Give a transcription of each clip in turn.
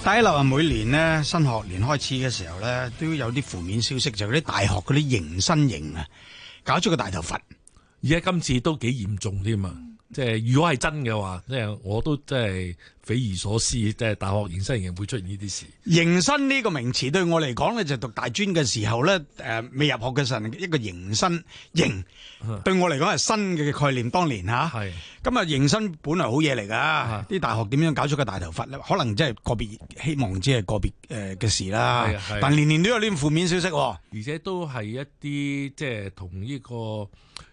第一樓啊，每年咧新學年開始嘅時候咧，都有啲負面消息，就係啲大學嗰啲迎新營啊，搞咗個大頭佛。 而家今次都幾嚴重添啊！即係如果係真嘅話，即係我都真係匪夷所思，即係大學迎新營會出現呢啲事。 迎新呢個名詞對我嚟講咧，就讀大專嘅時候咧，未入學嘅時候一個迎新營，對我嚟講係新嘅概念。當年嚇， 係咁啊迎新本來好嘢嚟㗎，啲大學點樣搞出個大頭佛咧？可能真係個別，希望只係個別嘅事啦。但年年都有呢啲負面消息， 而且都係一啲即係同呢個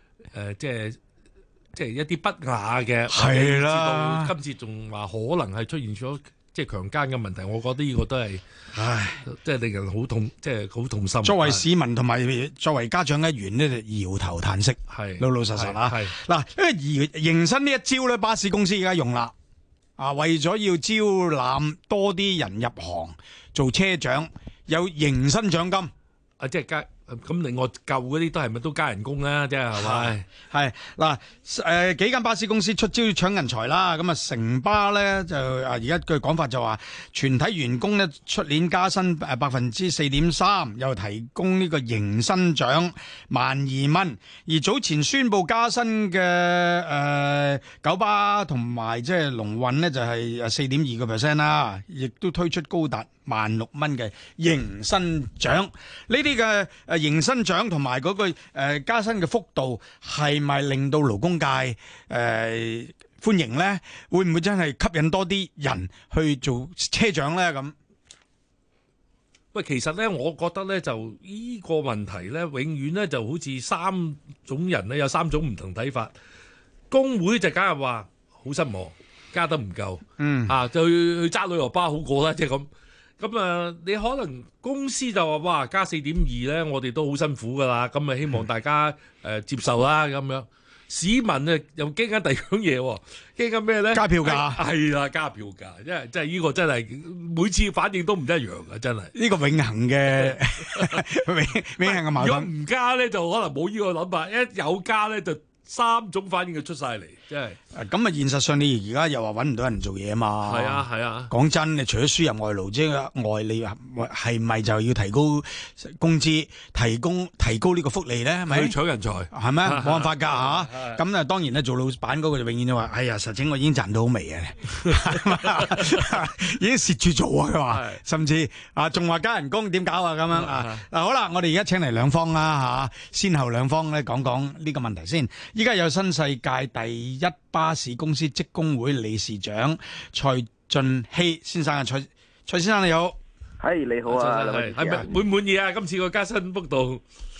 即係一啲不雅嘅， 係啦。 今次仲話可能係出現咗即係強姦嘅問題，我覺得呢個都係，即係令人好痛，即係好痛心。 作為市民同埋作為家長一員呢，就搖頭嘆息，老老實實啦。嗱，因為迎新呢一招咧，巴士公司而家用啦，為咗要招攬多啲人入行做車長，有迎新獎金， 即係加。咁另外舊嗰啲都係咪都加人工啦？即係係咪？ 係嗱，幾間巴士公司出招搶人才啦。咁啊，城巴咧就而家據講法就話，全體員工咧出年加薪4.3%，又提供呢個迎新獎12,000。而早前宣布加薪嘅九巴同埋即係龍運呢，就係4.2% 啦，亦都推出高達16,000蚊嘅迎新獎。呢啲嘅迎新獎同埋嗰個加薪嘅幅度係咪令到勞工界歡迎呢？會唔會真係吸引多啲人去做車長呢？咁喂，其實咧，我覺得咧就呢個問題咧，永遠咧就好似三種人咧有三種唔同睇法。工會就梗係話好失望，加得唔夠，就去揸旅遊巴好過啦，即係咁。咁啊，你可能公司就話哇加4.2咧，我哋都好辛苦噶啦，咁啊希望大家接受啦咁樣。市民啊又驚緊第二樣嘢喎，驚緊咩咧？ 加票價係啦，加票價，因為真係呢個真係每次反應都唔一樣嘅，真係呢個永恆嘅永恆嘅矛盾。 如果唔加咧，就可能冇呢個諗法；一有加咧，就三種反應就出晒嚟，真係。 咁啊，現實上你而家又話揾唔到人做嘢啊嘛？ 係啊係啊。講真，你除咗輸入外勞之外，你係咪就要提高工資、提高呢個福利咧？係咪？ 去搶人才係咩？冇辦法㗎嚇。咁啊，當然咧，做老闆嗰個就永遠都話：哎呀，實情我已經賺到好微嘅，已經蝕住做啊！佢話，甚至仲話加人工，點搞啊？咁樣嗱，好啦，我哋而家請嚟兩方啦嚇，先後兩方咧講講呢個問題先。依家有新世界第一巴士公司職工會理事長蔡俊熙先生啊，蔡先生你好。 係你好啊， 係咪滿唔滿意啊？今次個加薪幅度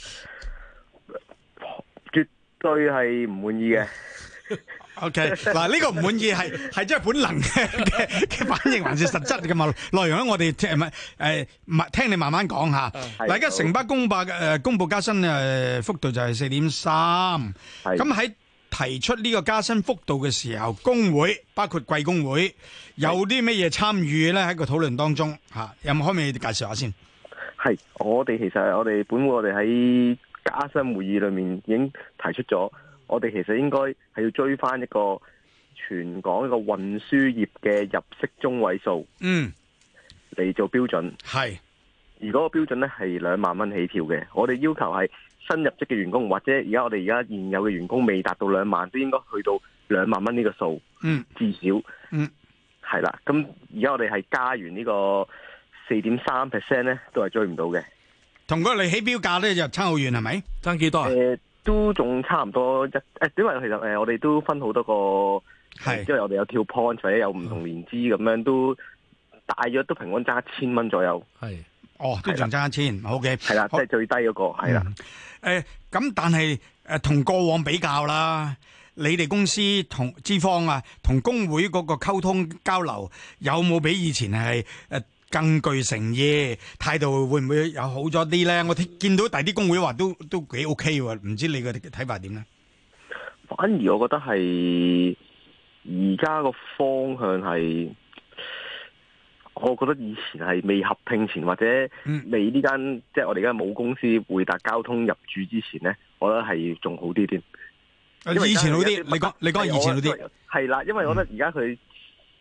絕對係唔滿意嘅。 OK， 嗱呢個唔滿意係真係本能嘅反應，還是實質嘅內容咧？我哋聽你慢慢講下。嗱，而家城巴公布加薪幅度就係4.3%。咁喺提出呢個加薪幅度嘅時候，工會包括貴工會有啲咩嘢參與咧？喺個討論當中有冇可唔可以介紹下先？ 係我哋其實我哋本會我哋喺加薪會議裏面已經提出咗。我哋其實應該係要追翻一個全港一個運輸業嘅入息中位數，嚟做標準。 係， 而嗰個標準咧係2萬蚊起跳嘅。我哋要求係新入職嘅員工，或者我哋而家現有嘅員工未達到2萬，都應該去到2萬蚊呢個數。至少。係啦。咁而家我哋係加完呢個4.3% 咧，都係追唔到嘅。 同嗰個你起標價咧就差好遠，係咪？爭幾多啊？ 都仲差唔多因為其實我哋都分好多個，即係我哋有跳 point 或者有唔同年資咁樣，都大約都平均爭1000蚊左右。係， 都仲爭1000，好嘅。 係啦，即係最低嗰個係啦。 咁但係同過往比較啦，你哋公司同資方同工會嗰個溝通交流有冇比以前係更具誠意，態度會唔會有好咗啲咧？我見到第啲工會話都幾 OK 喎，唔知你嘅睇法點咧？ 反而我覺得係而家個方向係，我覺得以前係未合併前或者未呢間即係我哋而家冇公司匯達交通入駐之前咧，我覺得係仲好啲添。 以前好啲，你講以前好啲。 係啦，因為我覺得而家佢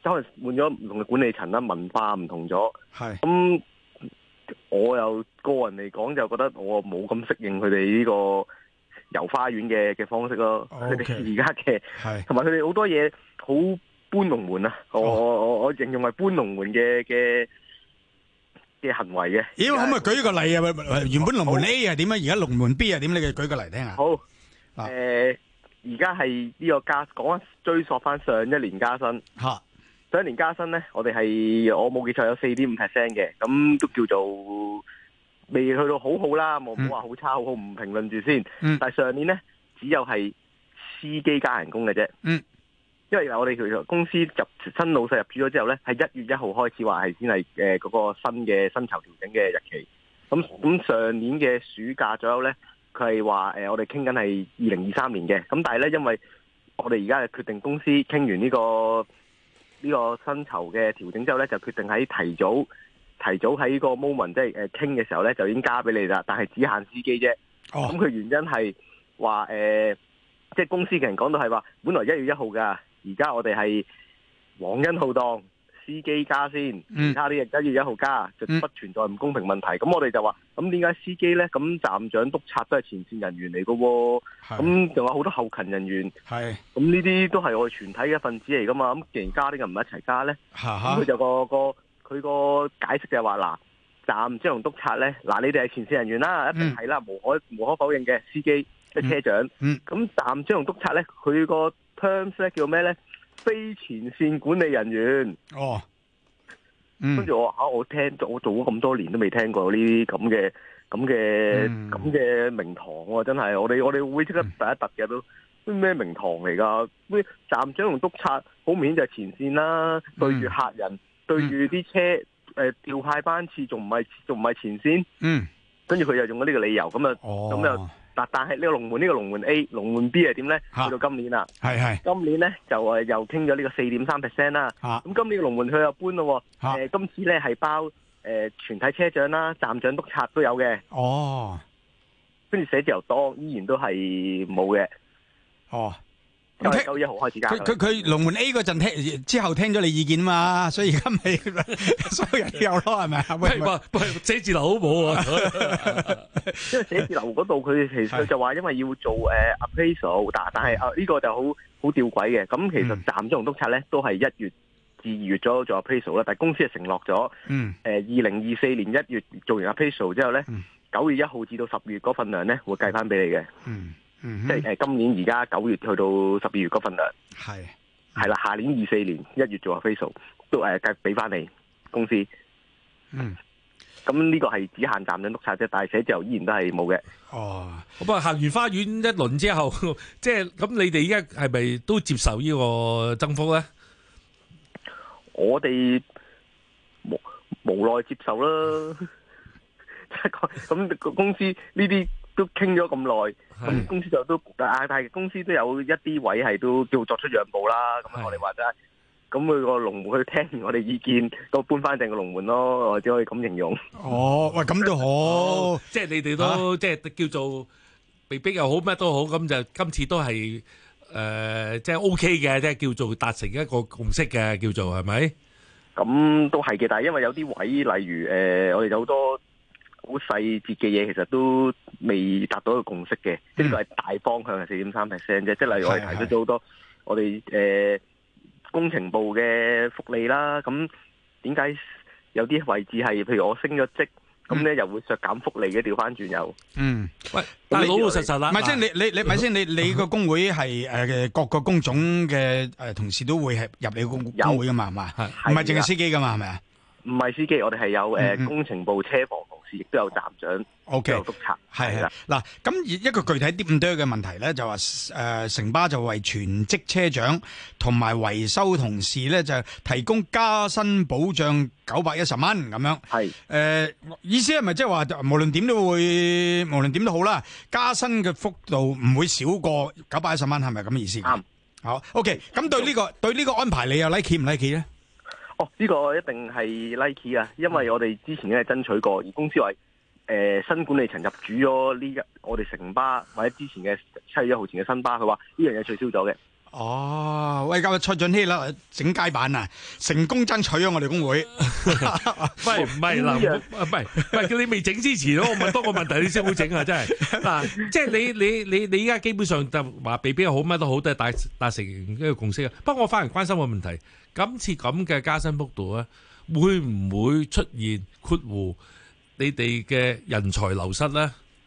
可能換咗唔同嘅管理層啦，文化唔同咗。 係咁，我又個人嚟講就覺得我冇咁適應佢哋呢個遊花園嘅方式咯。佢哋而家嘅係同埋佢哋好多嘢好搬龍門啊！我形容為搬龍門嘅行為嘅。 咦？可唔可以舉個例啊？原本龍門 A 係點啊？而家龍門 B 係點？你嘅舉個例聽下。 好，而家係呢個講追溯翻上一年加薪。上一年加薪咧，我哋係我冇記錯有4.5% 嘅，咁都叫做未去到好好啦，冇話好差好好，唔評論住先。但係上年咧，只有係司機加人工嘅啫。因為我哋其實公司新老細入主咗之後咧，係1月1號開始話係先係嗰個新嘅薪酬調整嘅日期。咁上年嘅暑假左右咧，佢係話我哋傾緊係2023年嘅。咁但係咧，因為我哋而家係決定公司傾完呢個薪酬嘅調整之後咧，就決定喺提早喺個 moment 即係傾嘅時候咧，就已經加俾你啦。但係只限司機啫。咁佢原因係話即係公司嘅人講到係話，本來1月1號㗎。而家我哋係皇恩浩蕩，司機加先，其他啲人1月1號加，就不存在唔公平問題。咁我哋就話，咁點解司機咧？咁站長、督察都係前線人員嚟㗎喎，咁仲有好多後勤人員，咁呢啲都係我哋全體嘅一份子嚟㗎嘛。咁既然加啲人唔一齊加咧，咁佢就佢個解釋就係話嗱，站長同督察咧，嗱你哋係前線人員啦，一定係啦，無可否認嘅司機即係車長。咁站長同督察咧，佢個terms 咧叫咩咧？非前線管理人員。跟住我聽咗，我做咗咁多年都未聽過呢啲咁嘅名堂喎，真係我哋會即刻第一突嘅都咩名堂嚟㗎？咩站長同督察好明顯就係前線啦，對住客人，對住啲車調派班次，仲唔係前線？跟住佢又用咗呢個理由，咁又。但係呢個龍門 A、龍門 B 係點咧？去到今年啦，今年咧就又傾咗呢個4.3% 啦。咁今年嘅龍門佢又搬咯，今次咧係包全體車長啦、站長、督察都有嘅。跟住寫字樓多依然都係冇嘅。因為9月1號開始加。 佢龍門 A 嗰陣之後聽咗你意見嘛，所以而家咪所有人都有咯，係咪啊？ 喂，寫字樓好冇啊！ 因為寫字樓嗰度佢其實佢就話因為要做appraisal，但係呢個就好吊詭嘅。咁其實站長同督察咧都係1月至2月左右做 appraisal 啦，但係公司係承諾咗2024年1月做完 appraisal 之後咧，9月1號至到10月嗰份糧咧會計翻俾你嘅。即係今年而家9月去到12月嗰份糧，係啦，下年24年1月做 appraisal 都計俾翻你公司。咁呢個係只限站長督察啫，但係寫字樓依然都係冇嘅。 咁行完花園一輪之後，即係咁，你哋而家係咪都接受呢個增幅咧？ 我哋無奈接受啦。咁公司呢啲都傾咗咁耐，咁公司就都但係公司都有一啲位係都叫作出讓步啦。咁我哋話齋，咁佢個龍門去聽完我哋意見，都搬翻正個龍門咯，我只可以咁形容。 喂，咁都好， 即係你哋都即係叫做被逼又好，咩都好，咁就今次都係即係 OK 嘅，即係叫做達成一個共識嘅，叫做係咪？咁都係嘅，但係因為有啲位，例如我哋有好多好細節嘅嘢，其實都未達到一個共識嘅，即係呢個係大方向係4.3% 啫。即係例如我哋提出咗好多我哋工程部嘅福利啦，咁點解有啲位置係譬如我升咗職，咁咧又會削減福利嘅？調翻轉又喂，但係老老實實啦， 唔係即係你咪先，你個工會係各個工種嘅同事都會係入你個工會噶嘛？係嘛？唔係淨係司機噶嘛？係咪啊？ 唔係司機，我哋係有工程部車房同事，亦都有站長，都有督察。係啦， 嗱，咁一個具體啲咁多嘅問題咧，就話城巴就為全職車長同埋維修同事咧，就提供加薪保障910蚊咁樣。係意思係咪即係話無論點都好啦，加薪嘅幅度唔會少過910蚊，係咪咁嘅意思？啱。好 OK， 咁對呢個安排，你又 like 唔 like 咧？ 呢個一定係 Nike 啊，因為我哋之前咧爭取過，而公司話新管理層入主咗我哋城巴或者之前嘅7月1號前嘅新巴，佢話呢樣嘢取消咗嘅。 哦，喂，今日蔡俊熙啦，整街板啊，成功爭取咗我哋工會。 喂，唔係嗱，唔係叫你未整之前，我問多個問題，你先好整啊！真係嗱，即係你依家基本上就話被邊好乜都好，都係達成一個共識啊。不過我反而關心個問題，今次咁嘅加薪幅度咧，會唔會出現括弧你哋嘅人才流失咧？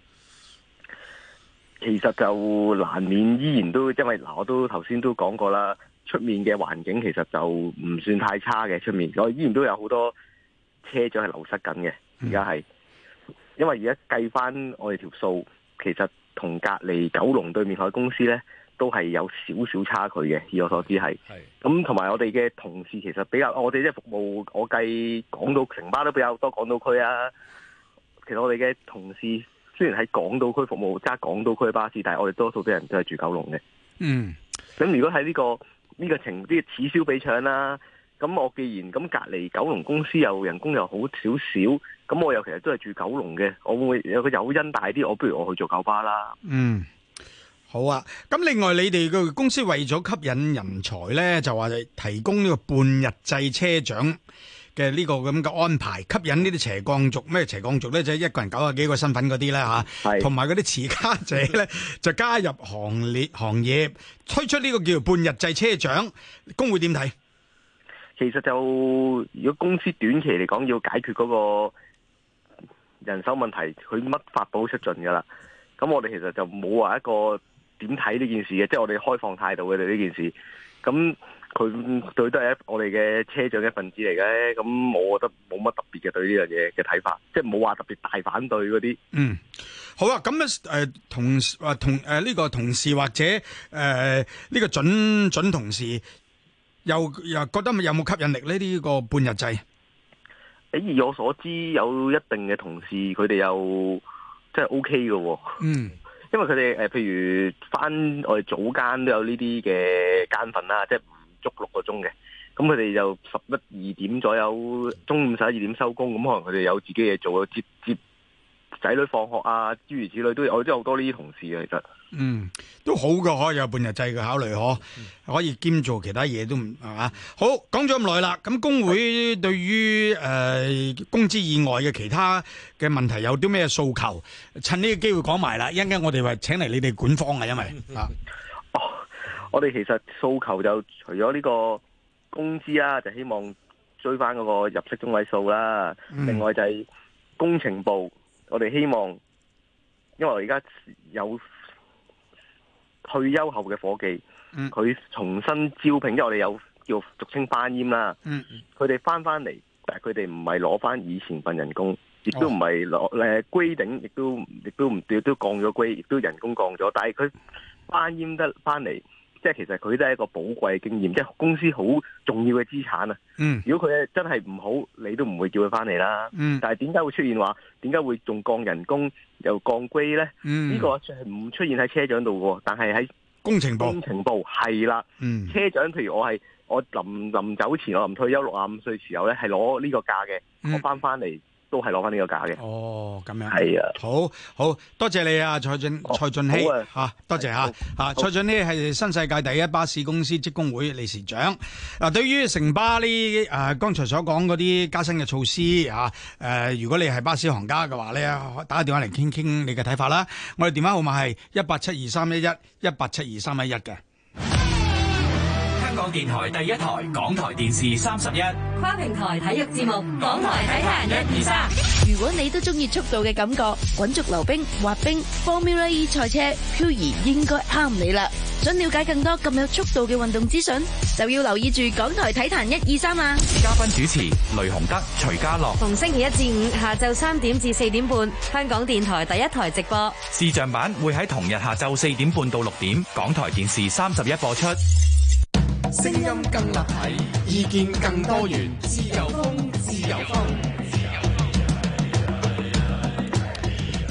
其實就難免依然都，因為嗱，我都頭先都講過啦，出面嘅環境其實就唔算太差嘅，出面我依然都有好多車長係流失緊嘅，而家係，因為而家計翻我哋條數，其實同隔離九龍對面海公司呢都係有少少差距嘅，以我所知係。咁同埋我哋嘅同事其實比較，我哋即係服務，我計港島城巴都比較多港島區啊。其實我哋嘅同事，雖然喺港島區服務揸港島區嘅巴士，但係我哋多數啲人都係住九龍嘅。咁如果喺呢個啲此消彼長啦，咁我既然咁隔離九龍公司又人工又好少少，咁我又其實都係住九龍嘅，我會有個誘因大啲，我不如我去做九巴啦。 好啊。咁另外你哋個公司為咗吸引人才咧，就話提供呢個半日制車長嘅呢個咁嘅安排，吸引呢啲斜槓族，咩斜槓族咧，就係一個人90幾個身份嗰啲咧嚇，同埋嗰啲持家者咧就加入行業，推出呢個叫做半日制車長，工會點睇？ 其實就如果公司短期嚟講要解決嗰個人手問題，佢乜法寶出盡㗎啦。咁我哋其實就冇話一個點睇呢件事嘅，即係我哋開放態度嘅對呢件事。咁佢對都係我哋嘅車長一份子嚟嘅，咁我覺得冇乜特別嘅對呢樣嘢嘅睇法，即係冇話特別大反對嗰啲。 好啊，咁同呢個同事或者呢個準同事又覺得有冇吸引力呢？呢個半日制？ 以我所知，有一定嘅同事佢哋又即係 OK 嘅喎。因為佢哋譬如返我哋早間都有呢啲嘅間份啦，即係唔足6個鐘嘅，咁佢哋就11、2點左右，中午11、2點收工，咁可能佢哋有自己嘢做，接仔女放學啊，諸如此類都有，我都有好多呢啲同事嘅，其實。 都好嘅，可以有半日制嘅考慮，可以兼做其他嘢都唔係嘛。好，講咗咁耐啦，咁工會對於工資以外嘅其他嘅問題有啲咩訴求？趁呢個機會講埋啦，一陣間我哋話請嚟你哋管方啊，因為我哋其實訴求就除咗呢個工資啦，就希望追翻嗰個入息中位數啦。另外就係工程部，我哋希望，因為我而家有退休後嘅伙計，佢重新招聘，因為我哋有叫俗稱翻閹啦。佢哋翻嚟，但係佢哋唔係攞翻以前份人工，亦都唔係攞grading，亦都降咗 grade，亦都人工降咗。但係佢翻閹得翻嚟，即係其實佢都係一個寶貴嘅經驗，即係公司好重要嘅資產啊。如果佢真係唔好，你都唔會叫佢翻嚟啦。但係點解會出現話？點解會仲降人工又降 grade 咧？呢個係唔出現喺車長度嘅，但係喺工程部係啦。車長譬如我臨走前，我臨退休65歲時候咧，係攞呢個價嘅，我翻嚟都係攞翻呢個價嘅。 咁樣係啊， 好多謝你啊，蔡俊熙多謝蔡俊熙係新世界第一巴士公司職工會理事長。對於城巴呢剛才所講嗰啲加薪嘅措施如果你係巴士行家嘅話咧，打個電話嚟傾傾你嘅睇法啦。我哋電話號碼係1872311 1872311嘅。 香港電台第一台，港台電視31， 跨平台體育節目，港台體壇123。如果你都中意速度嘅感覺，滾軸溜冰、滑冰、Formula E 賽車、漂移應該啱你啦。想了解更多咁有速度嘅運動資訊，就要留意住港台體壇123啦。 嘉賓主持雷洪德、徐家樂， 逢星期1至5下晝3點至4點半，香港電台第一台直播。 視像版會喺同日下晝4點半到6點，港台電視31播出。 聲音更立體，意見更多元，自由風，自由風。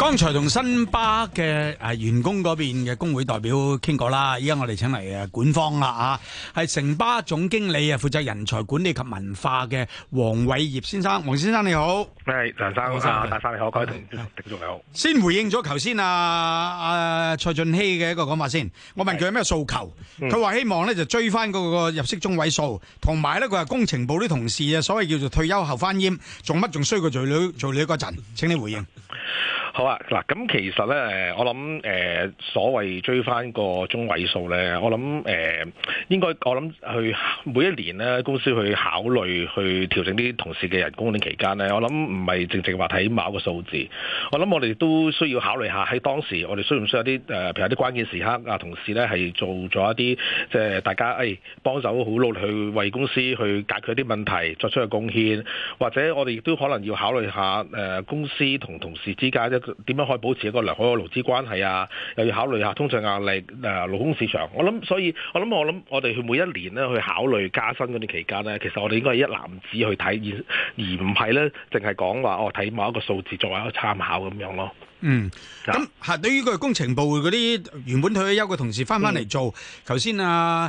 剛才同新巴嘅員工嗰邊嘅工會代表傾過啦，依家我哋請嚟管方啦係城巴總經理負責人才管理及文化嘅黃偉業先生。黃先生你好。 係梁生，大生你好，各位聽眾你好。 先回應咗頭先蔡俊熙嘅一個講法先，我問佢有咩訴求，佢話希望咧就追翻嗰個入息中位數，同埋咧佢話工程部啲同事所謂叫做退休後翻閹，做乜仲衰過做女嗰陣？請你回應。 好啊，嗱，咁其實咧，我諗所謂追翻個中位數咧，我諗應該我諗去每一年咧，公司去考慮去調整啲同事嘅人工呢期間咧，我諗唔係淨淨話睇某一個數字，我諗我哋都需要考慮下喺當時我哋需唔需要啲譬如有啲關鍵時刻同事咧係做咗一啲即係大家幫手好努力去為公司去解決一啲問題作出嘅貢獻，或者我哋亦都可能要考慮下公司同同事之間點樣可以保持一個良好嘅勞資關係啊？又要考慮下通脹壓力、勞工市場。我諗我哋去每一年咧去考慮加薪嗰段期間咧，其實我哋應該係一籃子去睇，而唔係咧淨係講話睇某一個數字作為一個參考咁樣咯。 咁對於個工程部嗰啲原本退休嘅同事翻嚟做，頭先蔡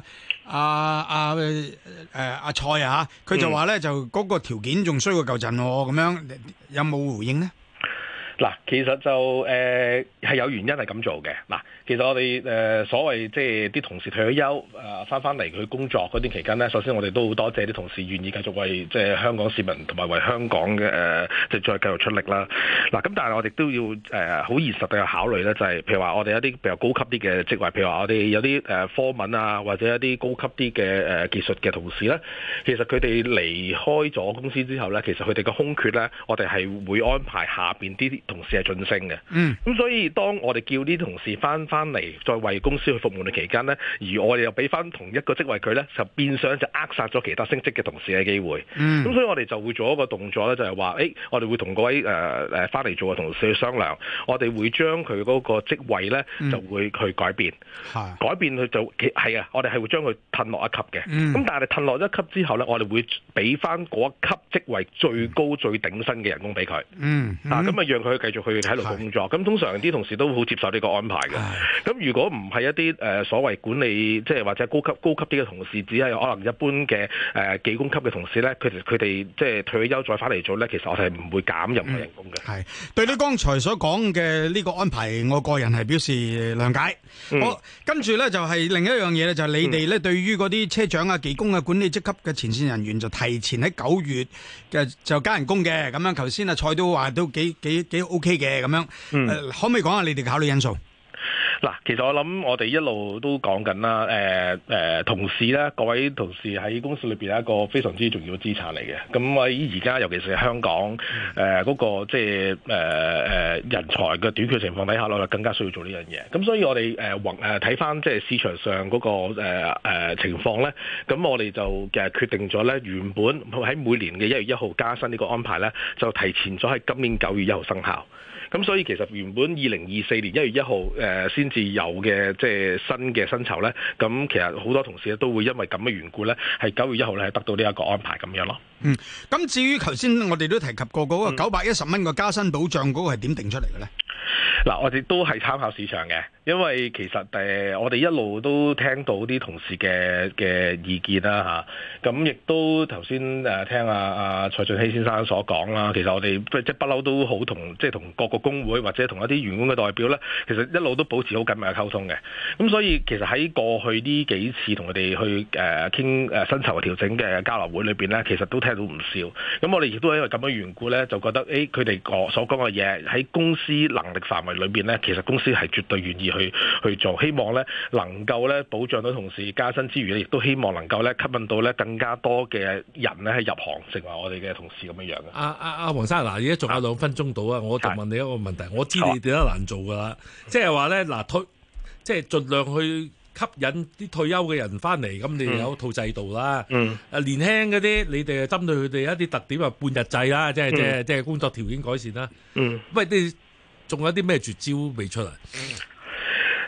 佢就話咧就嗰個條件仲衰過舊陣咁樣，有冇回應呢？ 嗱，其實就係有原因係咁做嘅。嗱，其實我哋所謂即係啲同事退咗休翻嚟佢工作嗰段期間呢，首先我哋都好多謝啲同事願意繼續為即係香港市民同埋為香港嘅即係再繼續出力啦。嗱，咁但係我哋都要好現實地去考慮呢，就係譬如話我哋一啲比較高級啲嘅職位，譬如話我哋有啲科文啊，或者一啲高級啲嘅技術嘅同事呢，其實佢哋離開咗公司之後呢，其實佢哋嘅空缺呢，我哋係會安排下邊啲同事係晉升嘅，咁所以當我哋叫啲同事翻嚟再為公司去服務嘅期間呢，而我哋又俾翻同一個職位佢呢，就變相就扼殺咗其他升職嘅同事嘅機會。咁所以我哋就會做一個動作呢，就係話，我哋會同嗰位翻嚟做嘅同事去商量，我哋會將佢嗰個職位呢，就會去改變，改變佢就係啊，我哋係會將佢褪落一級嘅。咁但係褪落一級之後呢，我哋會俾翻嗰一級職位最高最頂薪嘅人工俾佢。咁啊讓佢繼續去喺度工作，咁通常啲同事都好接受呢個安排嘅。咁如果唔係一啲所謂管理，即係或者高級啲嘅同事，只係可能一般嘅技工級嘅同事咧，佢哋即係退咗休再翻嚟做咧，其實我哋係唔會減任何人工嘅。 係對你剛才所講嘅呢個安排，我個人係表示諒解。好，跟住咧就係另一樣嘢咧，就係你哋咧對於嗰啲車長啊、技工啊、管理職級嘅前線人員，就提前喺9月嘅就加人工嘅。咁樣頭先蔡都話都幾 OK 嘅咁樣，可唔可以講下你哋嘅考慮因素？ 嗱，其實我諗我哋一路都講緊啦，同事咧，各位同事喺公司裏邊係一個非常之重要嘅資產嚟嘅。咁喺而家尤其是香港嗰個即係人才嘅短缺情況底下，我哋更加需要做呢樣嘢。咁所以我哋睇翻即係市場上嗰個情況咧，咁我哋就決定咗咧，原本喺每年嘅1月1號加薪呢個安排咧，就提前咗喺今年9月1號生效。咁所以其實原本2024年1月1號先至有嘅即係新嘅薪酬咧，咁其實好多同事都會因為咁嘅緣故咧，係9月1號咧係得到呢一個安排咁樣咯。 咁至於頭先我哋都提及過嗰個910蚊個加薪保障嗰個係點定出嚟嘅咧？ 嗱，我哋都係參考市場嘅，因為其實我哋一路都聽到啲同事嘅意見啦嚇，咁亦都頭先聽阿蔡俊熙先生所講啦，其實我哋即係不嬲都好同各個工會或者同一啲員工嘅代表咧，其實一路都保持好緊密嘅溝通嘅。咁所以其實喺過去呢幾次同佢哋去傾薪酬嘅調整嘅交流會裏邊咧，其實都聽到唔少。咁我哋亦都因為咁嘅緣故咧，就覺得佢哋所講嘅嘢喺公司能力範圍裏邊咧，其實公司係絕對願意去做，希望咧能夠咧保障到同事加薪之餘咧，亦都希望能夠咧吸引到咧更加多嘅人咧係入行成為我哋嘅同事咁樣樣嘅。 阿黃生，嗱，而家仲有2分鐘到啊，我就問你一個問題，我知你哋都難做噶啦，即係話咧嗱，即係盡量去吸引啲退休嘅人翻嚟，咁你哋有一套制度啦。年輕嗰啲，你哋針對佢哋一啲特點，半日制啦，即係工作條件改善啦。喂，你仲有啲咩絕招未出嚟？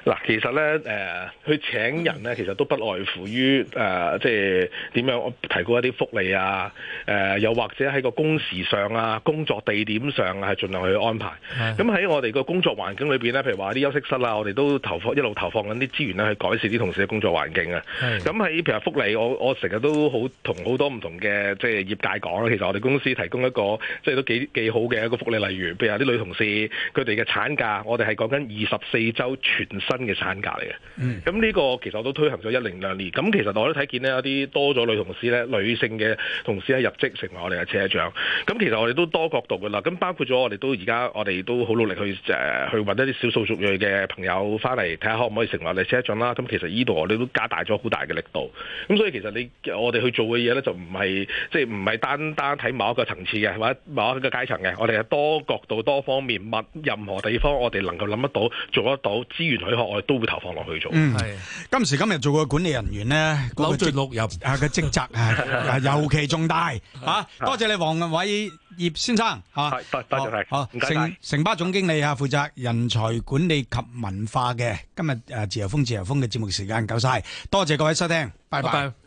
嗱，其實咧，去請人咧，其實都不外乎於即係點樣提供一啲福利啊，又或者喺個工時上啊、工作地點上啊，係盡量去安排。咁喺我哋個工作環境裏邊咧，譬如話啲休息室啊，我哋都一路投放緊啲資源咧，去改善啲同事嘅工作環境啊。咁喺譬如福利，我成日都同好多唔同嘅即係業界講啦。其實我哋公司提供一個即係都幾好嘅一個福利，例如譬如話啲女同事佢哋嘅產假，我哋係講緊24週全薪嘅產假嚟嘅。咁呢個其實我都推行咗1-2年。咁其實我都睇見呢，有啲多咗女同事咧，女性嘅同事咧入職成為我哋嘅車長。咁其實我哋都多角度噶啦。咁包括咗我哋都好努力去揾一啲少數族裔嘅朋友翻嚟睇下可唔可以成為我哋車長啦。咁其實呢度我哋都加大咗好大嘅力度。咁所以其實我哋去做嘅嘢咧就唔係單睇某一個層次嘅，或者某一個階層嘅。我哋係多角度、多方面，任何地方我哋能夠諗得到、做得到，資源許可我哋都會投放落去做。 今時今日做個管理人員咧， 扭盡六壬嘅職責係尤其重大嚇。多謝你黃偉業先生嚇， 多謝好，城巴總經理啊，負責人才管理及文化嘅。今日自由風嘅節目時間夠晒，多謝各位收聽，拜拜。